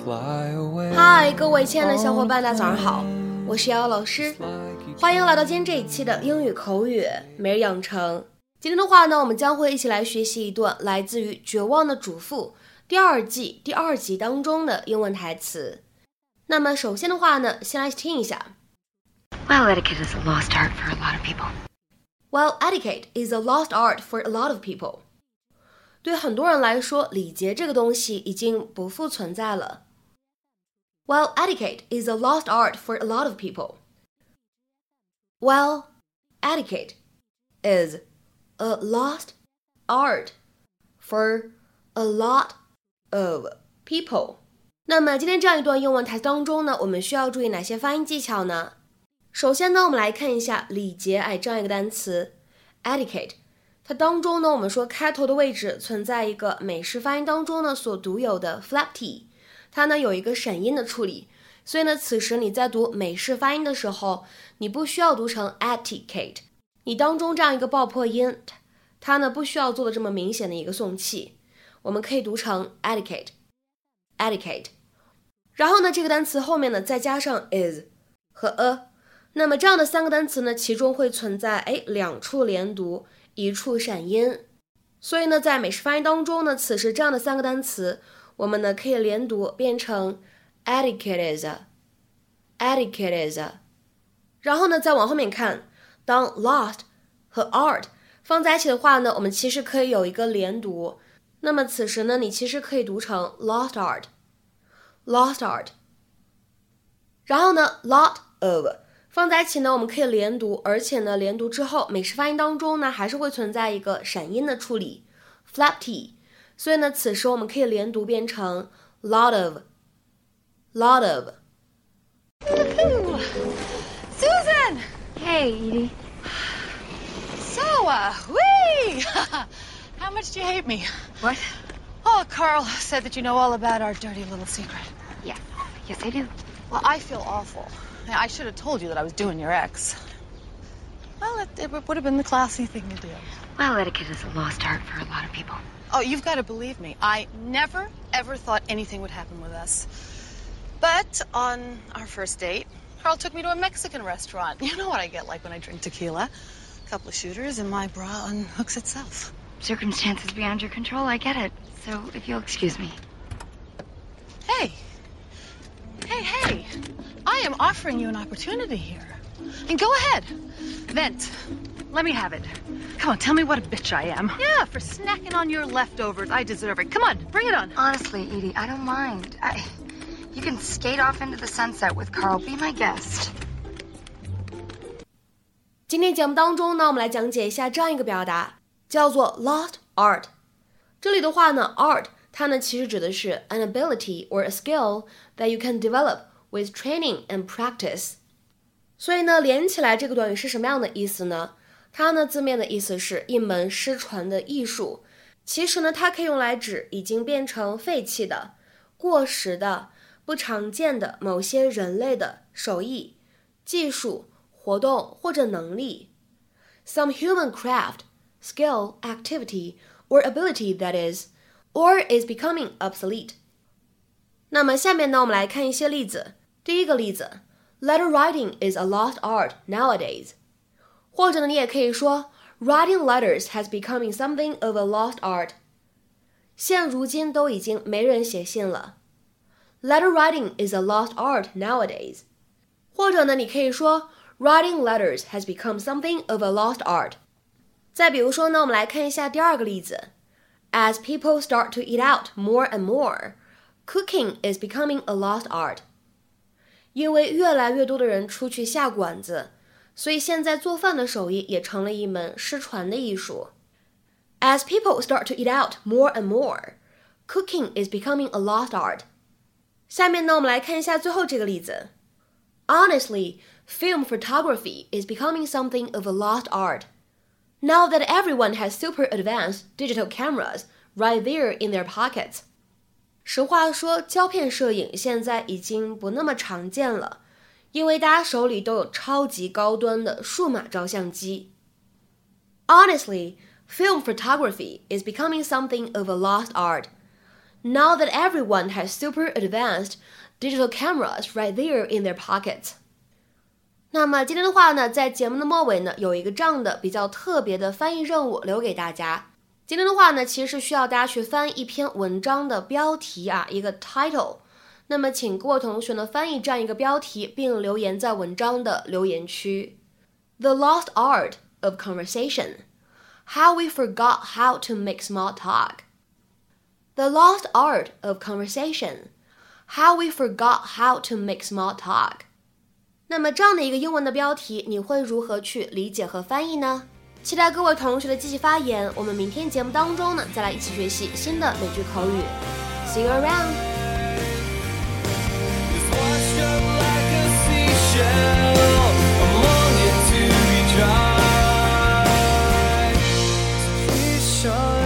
嗨，各位亲爱的小伙伴，大家早上好，我是瑶瑶老师，欢迎来到今天这一期的英语口语每日养成。今天的话呢，我们将会一起来学习一段来自于《绝望的主妇》第二季第2集当中的英文台词。那么首先的话呢，先来听一下。 Well, etiquette is a lost art for a lot of people. Well, etiquette is a lost art for a lot of people. 对很多人来说，礼节这个东西已经不复存在了。Well, etiquette is a lost art for a lot of people. Well, etiquette is a lost art for a lot of people. 那么今天这样一段英文台词当中呢，我们需要注意哪些发音技巧呢？首先呢，我们来看一下礼节这样一个单词 etiquette， 它当中呢，我们说开头的位置存在一个美式发音当中呢所独有的 flap t， 它呢有一个闪音的处理，所以呢此时你在读美式发音的时候，你不需要读成 etiquette， 你当中这样一个爆破音，它呢不需要做的这么明显的一个送气，我们可以读成 etiquette。然后呢，这个单词后面呢再加上 is 和 a， 那么这样的三个单词呢，其中会存在2处连读，1处闪音。所以呢，在美式发音当中呢，此时这样的三个单词，我们呢可以连读变成 etiquette is。然后呢，再往后面看，当 lost 和 art 放在一起的话呢，我们其实可以有一个连读。那么此时呢，你其实可以读成 lost art。然后呢 lot of 放在一起呢，我们可以连读，而且呢连读之后美式发音当中呢还是会存在一个闪音的处理 flap t， 所以呢此时我们可以连读变成 lot of。 Susan! Hey, Edie. So, whee! How much do you hate me? What? Oh, Carl said that you know all about our dirty little secret. Yes, I do. Well, I feel awful. I should have told you that I was doing your ex. Well, it would have been the classy thing to do. Well, etiquette is a lost art for a lot of people. Oh, you've got to believe me. I never, ever thought anything would happen with us. But on our first date, Carl took me to a Mexican restaurant. You know what I get like when I drink tequila. A couple of shooters and my bra unhooks itself. Circumstances beyond your control, I get it. So, if you'll excuse me. Hey, I am offering you an opportunity here. And go ahead, vent. Let me have it. Come on, tell me what a bitch I am. Yeah, for snacking on your leftovers. I deserve it. Come on, bring it on. Honestly, Edie, I don't mind. You can skate off into the sunset with Carl. Be my guest. 今天节目当中呢，我们来讲解一下这样一个表达，叫做 lost art。这里的话呢 art 它呢其实指的是 an ability or a skill that you can develop with training and practice。 所以呢连起来这个短语是什么样的意思呢？它呢字面的意思是一门失传的艺术，其实呢它可以用来指已经变成废弃的、过时的、不常见的某些人类的手艺、技术、活动或者能力。 Some human craft, skill, activity or ability that is or is becoming obsolete。 那么下面呢我们来看一些例子。第一个例子 Letter writing is a lost art nowadays。 或者呢你也可以说 Writing letters has becoming something of a lost art。 现如今都已经没人写信了。 Letter writing is a lost art nowadays。 或者呢你可以说 Writing letters has become something of a lost art。 再比如说呢我们来看一下第二个例子。As people start to eat out more and more, cooking is becoming a lost art。 因为越来越多的人出去下馆子，所以现在做饭的手艺也成了一门失传的艺术。As people start to eat out more and more, cooking is becoming a lost art。 下面呢我们来看一下最后这个例子。Honestly, film photography is becoming something of a lost art.Now that everyone has super advanced digital cameras right there in their pockets。 实话说，胶片摄影现在已经不那么常见了，因为大家手里都有超级高端的数码照相机。Honestly, film photography is becoming something of a lost art. Now that everyone has super advanced digital cameras right there in their pockets. 那么今天的话呢，在节目的末尾呢，有一个这样的比较特别的翻译任务留给大家。今天的话呢，其实是需要大家去翻译一篇文章的标题啊，一个 title。那么请各位同学呢翻译这样一个标题，并留言在文章的留言区。The lost art of conversation. How we forgot how to make small talk. The lost art of conversation. How we forgot how to make small talk. 那么这样的一个英文的标题，你会如何去理解和翻译呢？期待各位同学的积极发言。我们明天节目当中呢，再来一起学习新的美句口语。See you around. Sure